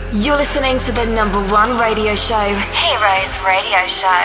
You're listening to the #1 radio show, Heroes Radio Show.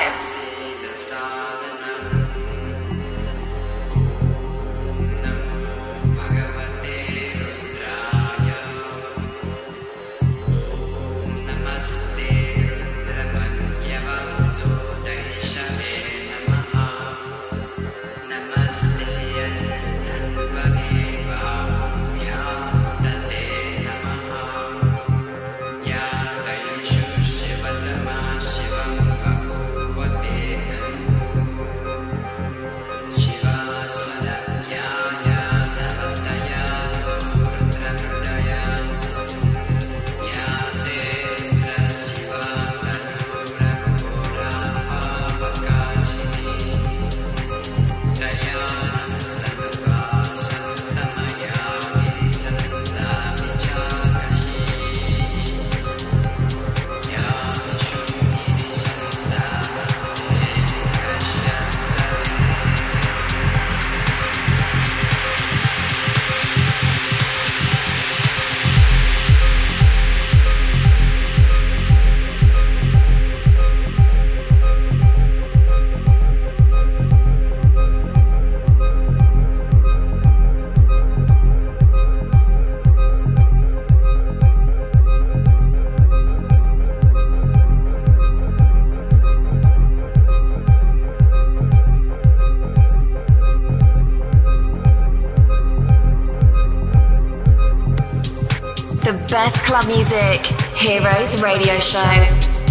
Best club music, Heroes Radio Show.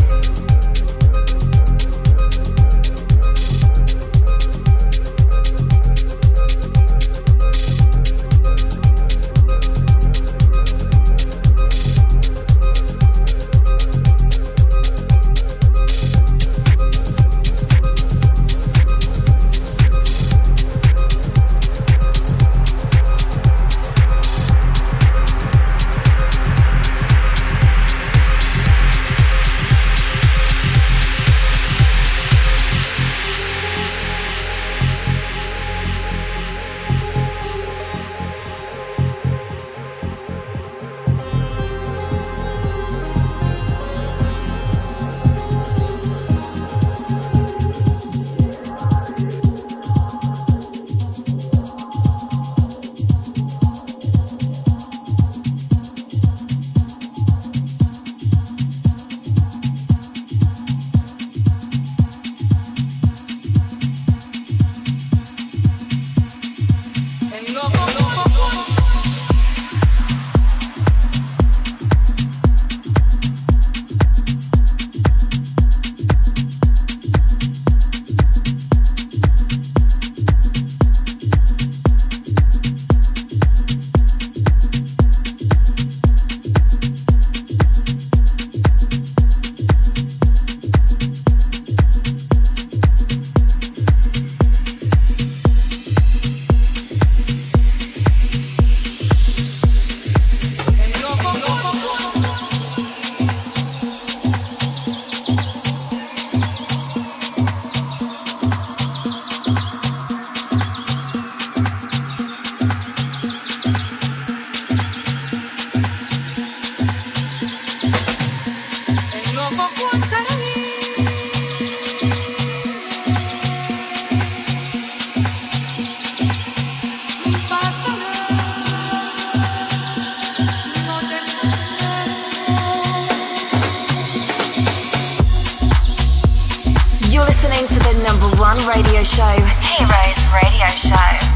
Listening to the #1 radio show, Heroes Radio Show.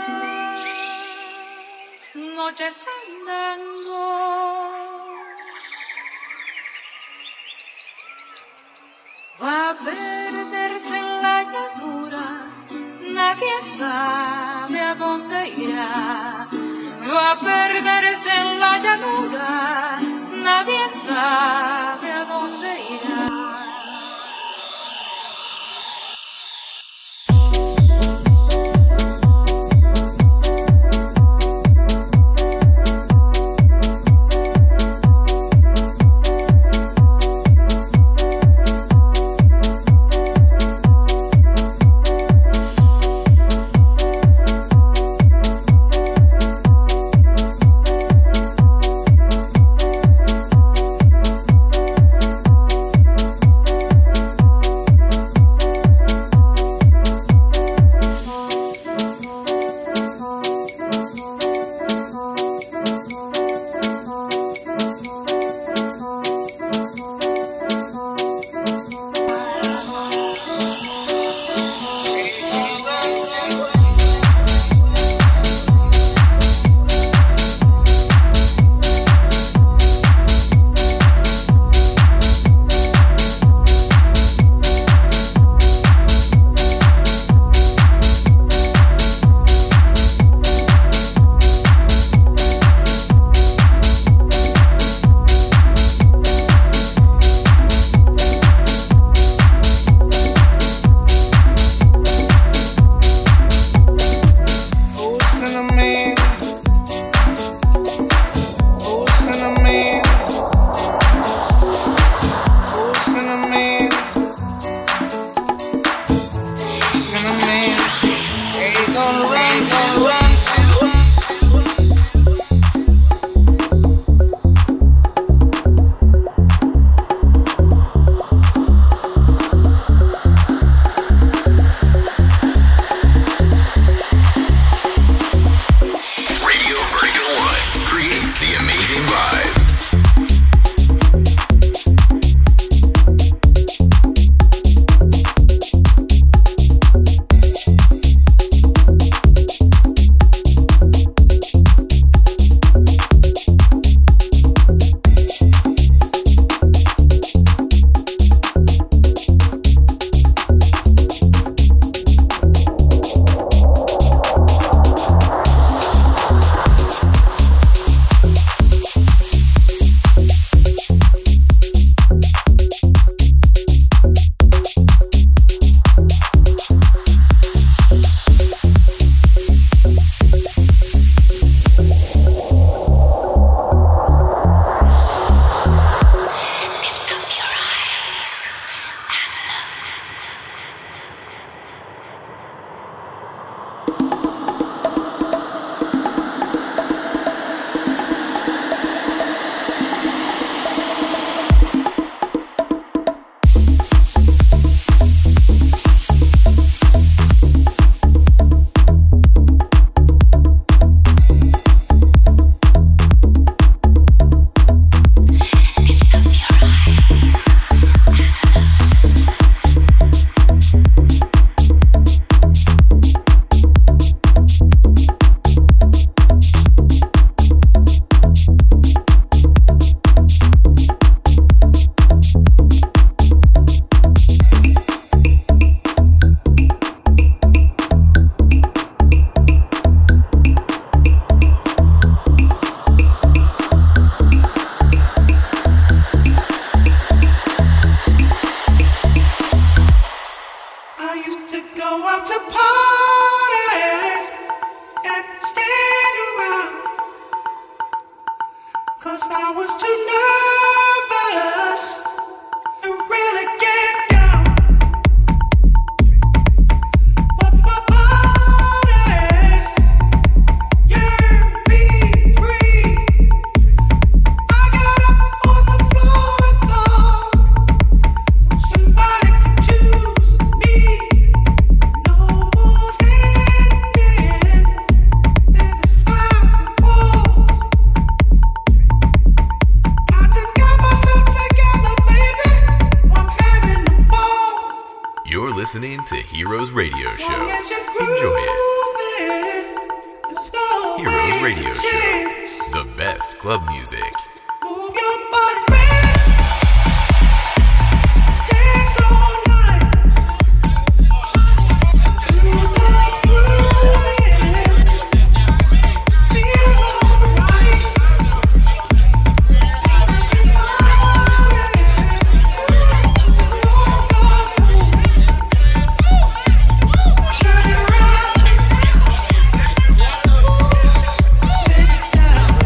noches fandango. Va a perderse en la llanura, nadie sabe a dónde irá. Va a perderse en la llanura, nadie sabe a dónde irá. listening to Heroes Radio Show. Enjoy it. Radio Show. The best club music. Move your body, man. Dance all night. Feel the groove. Feel alright. Turn around. Sit down.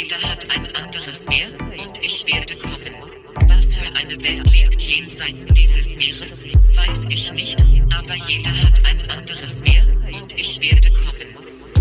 jeder hat ein anderes Meer und ich werde kommen. Was für eine Welt liegt jenseits dieses Meeres, weiß ich nicht, aber jeder hat ein anderes Meer und ich werde kommen.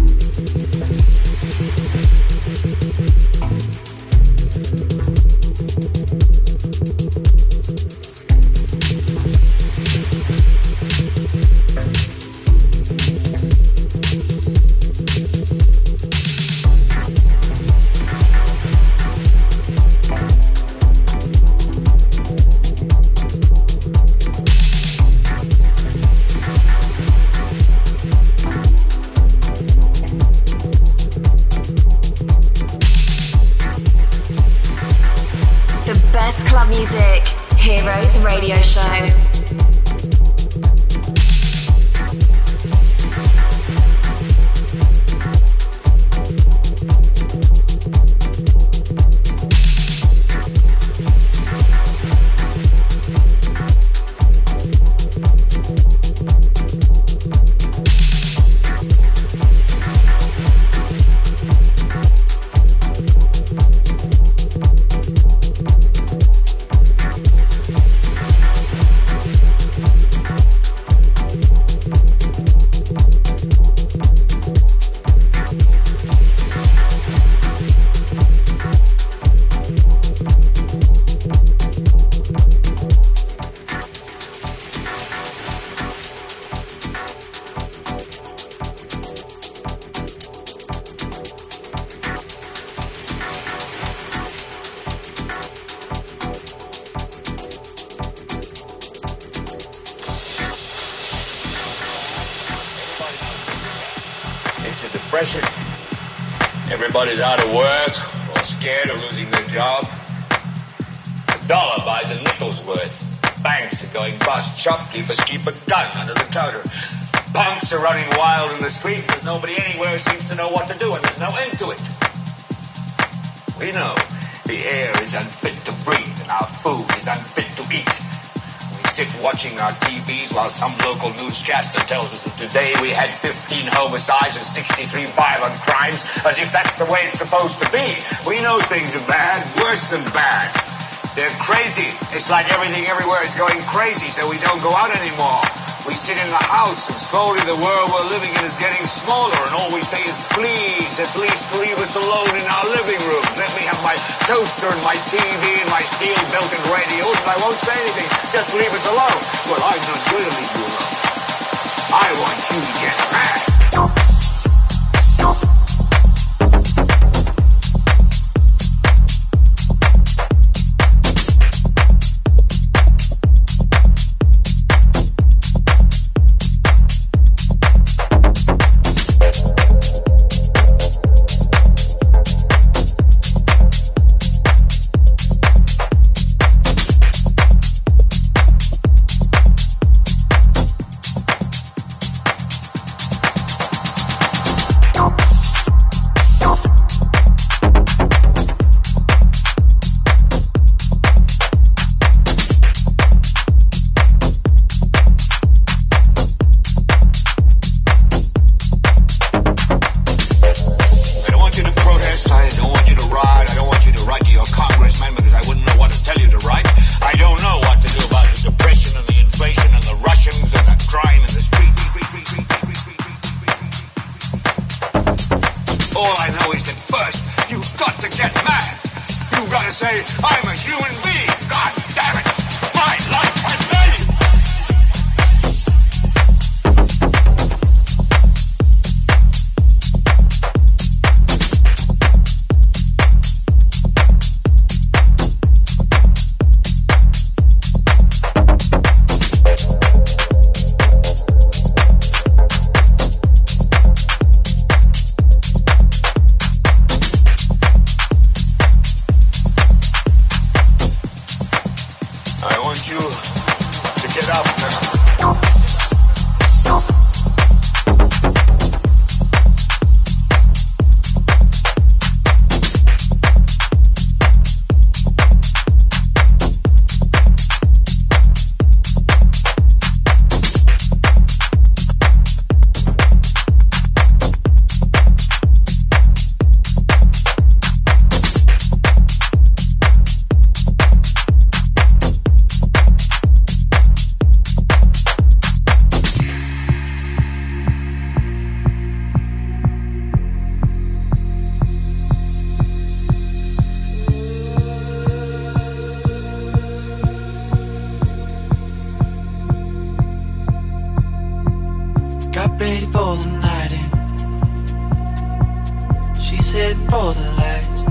Music, Heroes Radio Show. Everybody's out of work or scared of losing their job. $1 buys a nickel's worth. Banks are going bust. Shopkeepers keep a gun under the counter. Punks are running wild in the street because nobody anywhere seems to know what to do and there's no end to it. We know the air is unfit to breathe and our food is unfit to eat. Sit watching our TVs while some local newscaster tells us that today we had 15 homicides and 63 violent crimes, as if that's the way it's supposed to be. We know things are bad, worse than bad. They're crazy. It's like everything everywhere is going crazy, so we don't go out anymore. We sit in the house, and slowly the world we're living in is getting smaller, and all we say is, please, at least leave us alone in our living room. Let me have my toaster and my TV and my steel-belted radios, and I won't say anything. Just leave us alone. Well, I'm not going to leave you alone. I want you to get mad. heading for the lights,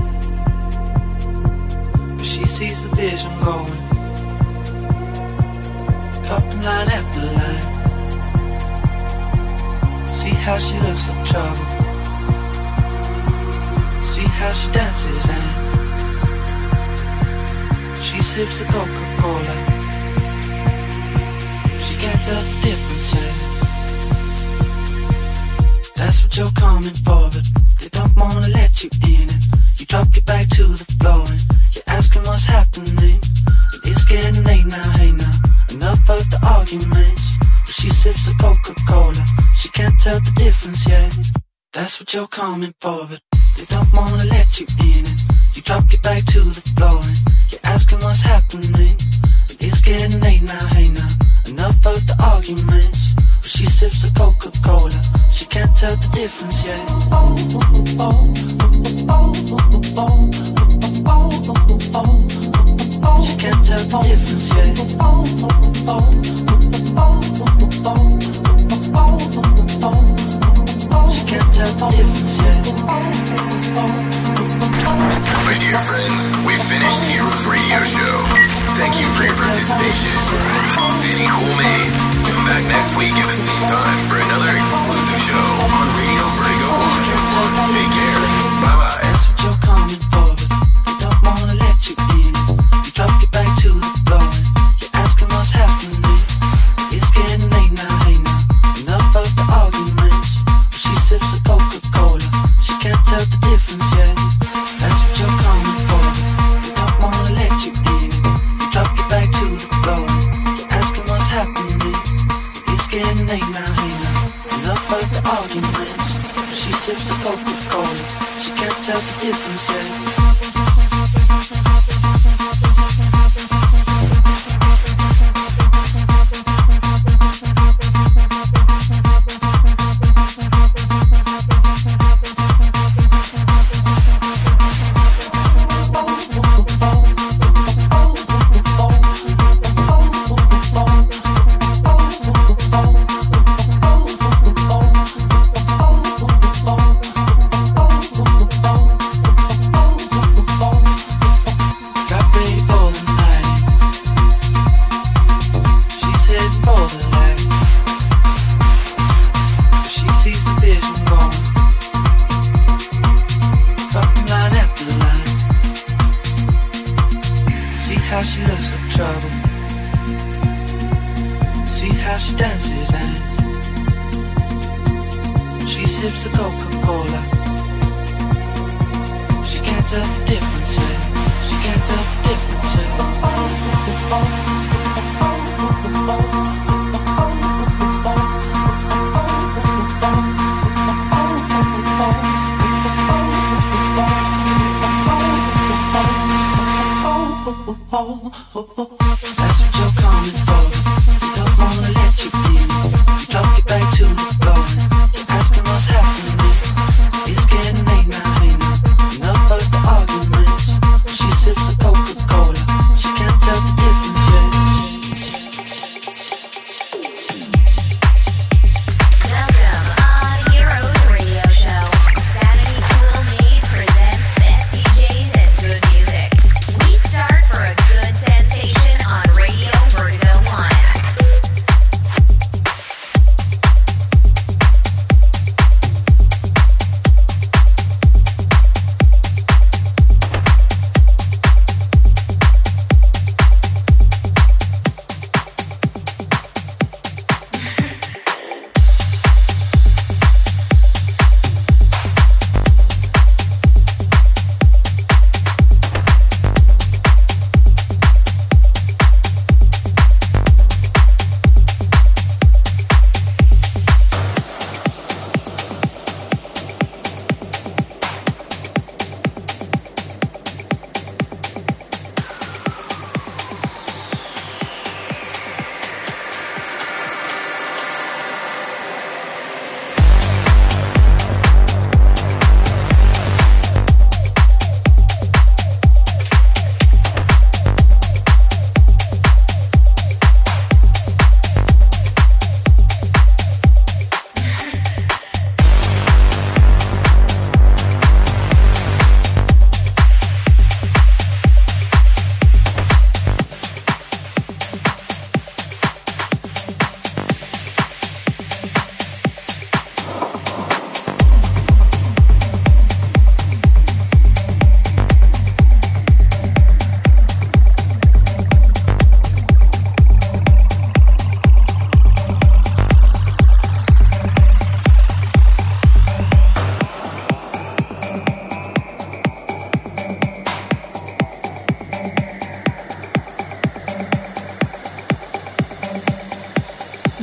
but she sees the vision going, cupping line after line. See how she looks like trouble, see how she dances and she sips the Coca-Cola. She can't tell the difference, and that's what you're coming for, but they don't wanna let you in, and you drop your back to the floor and you're asking what's happening. And it's getting late now, hey now, enough of the arguments. But she sips the Coca-Cola, she can't tell the difference yet. That's what you're coming for, but they don't wanna let you in, and you drop your back to the floor and you're asking what's happening. And it's getting late now, hey now, enough of the arguments. But she sips the Coca-Cola, she can't tell the difference yet. She can't tell the difference yet. She can't tell the difference yet. My dear friends, we finished Heroes Radio Show. Thank you for your participation. City Cool Made. Come back next week at the same time for another exclusive show on Radio Vertigo 1. Take care. Bye-bye. That's what you're coming for, but they don't wanna let you in. You drop your back to the floor and you're asking what's happening. It's getting late now, hey now, enough of the arguments. But she sips the Coca-Cola, she can't tell the difference yet. That's what you're coming for, but they don't wanna let you in. You drop your back to the floor and you're asking what's happening. It's getting late now, hey now, enough of the arguments. But she sips the Coca-Cola, she can't tell the difference yet.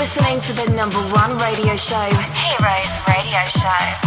listening to the #1 radio show, Heroes Radio Show.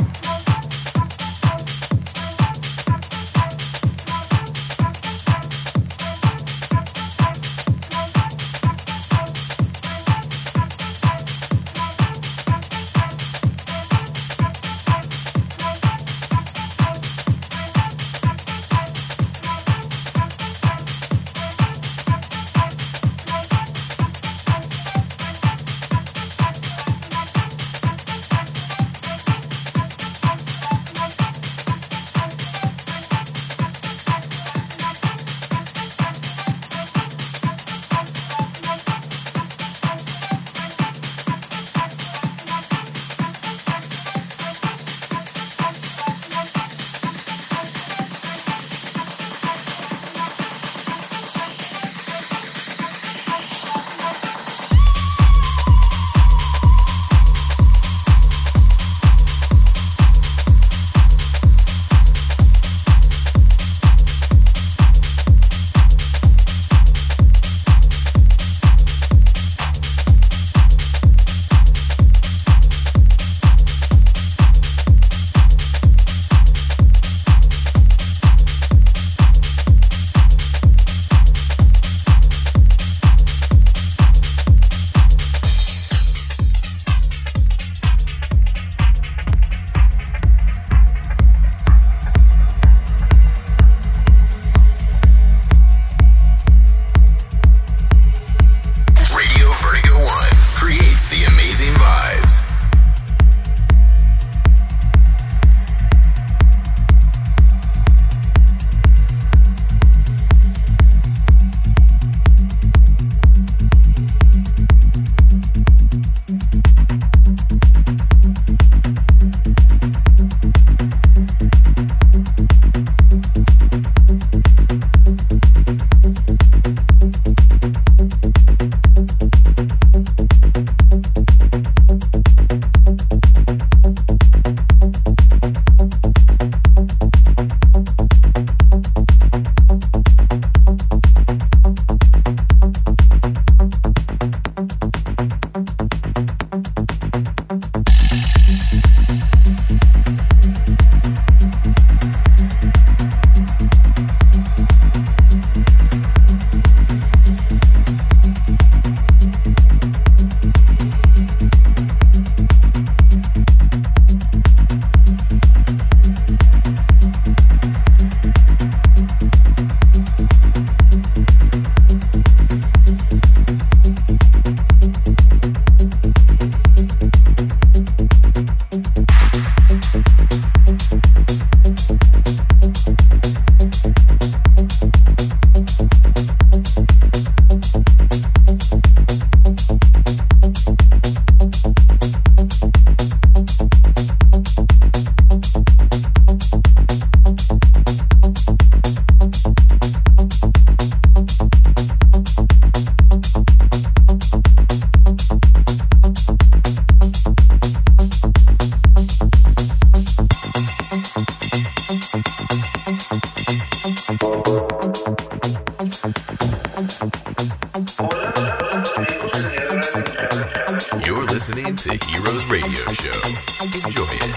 listening to Heroes Radio Show. Enjoy it.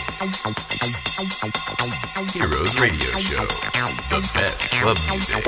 Heroes Radio Show. The best club music.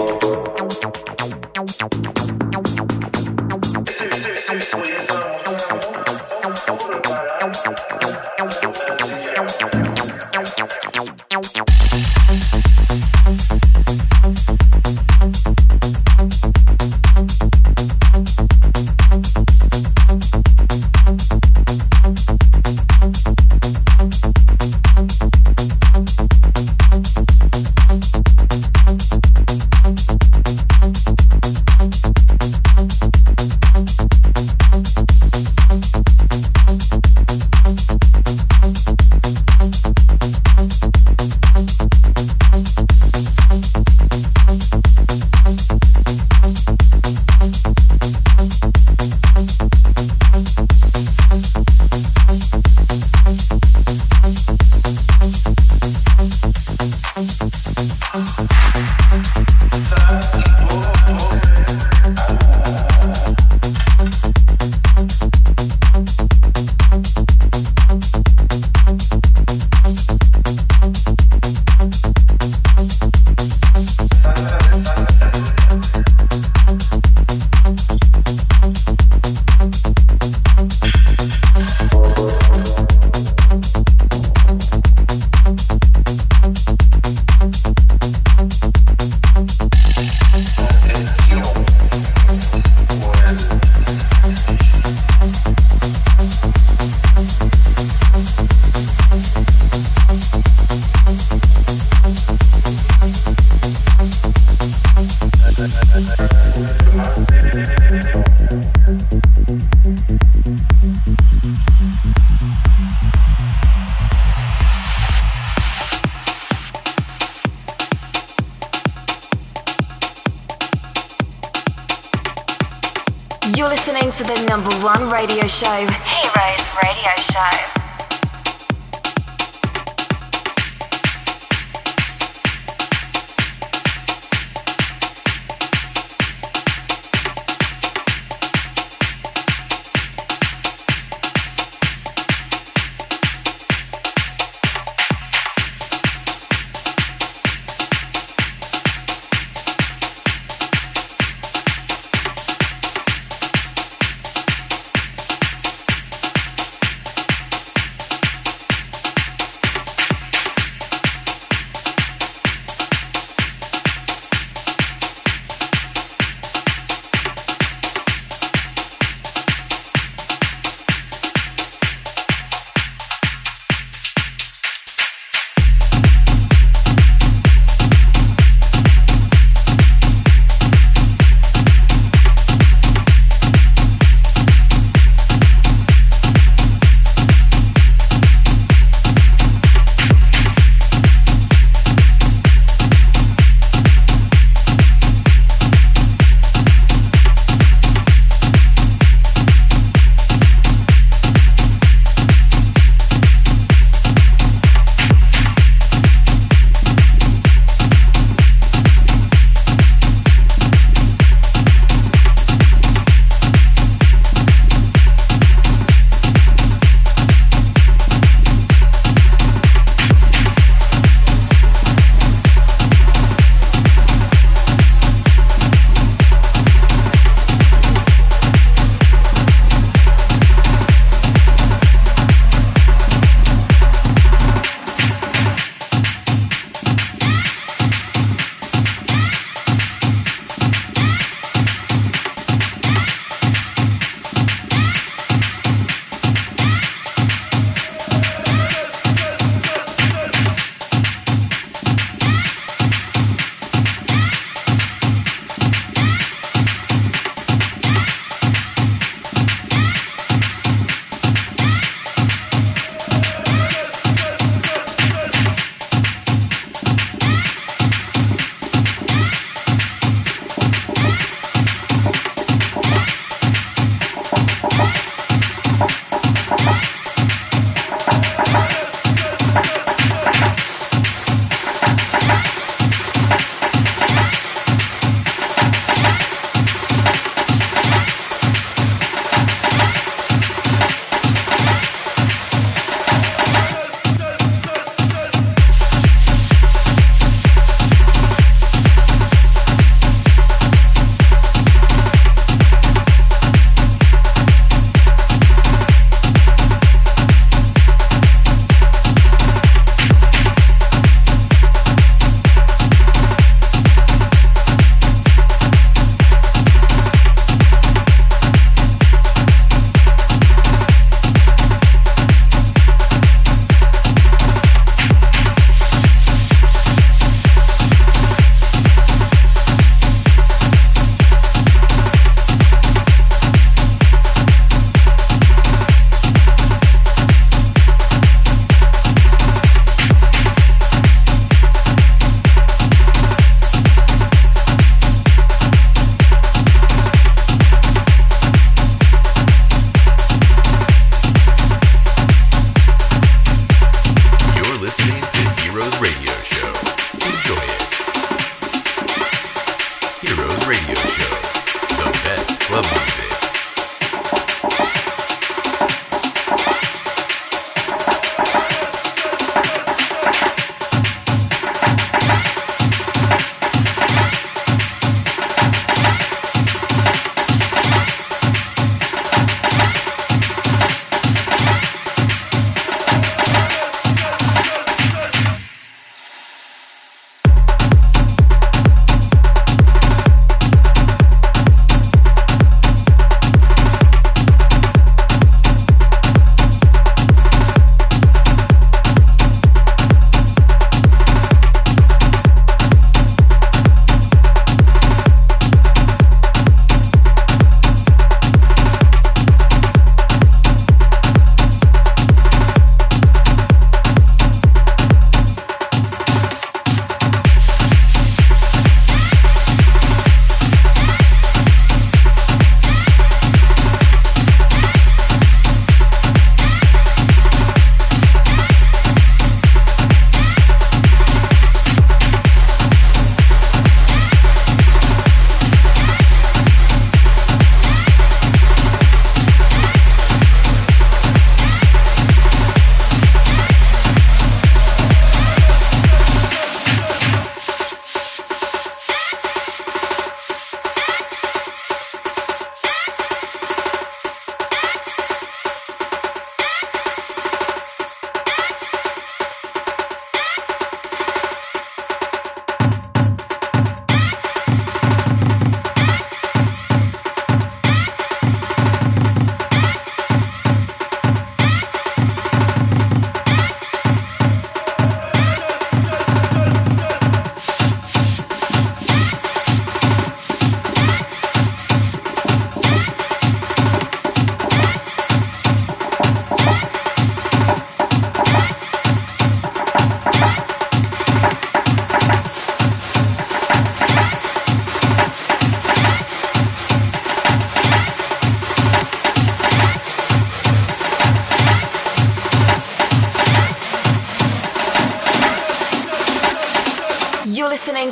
You're listening to the #1 radio show, Heroes Radio Show.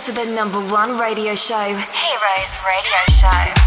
to the #1 radio show, Heroes Radio Show.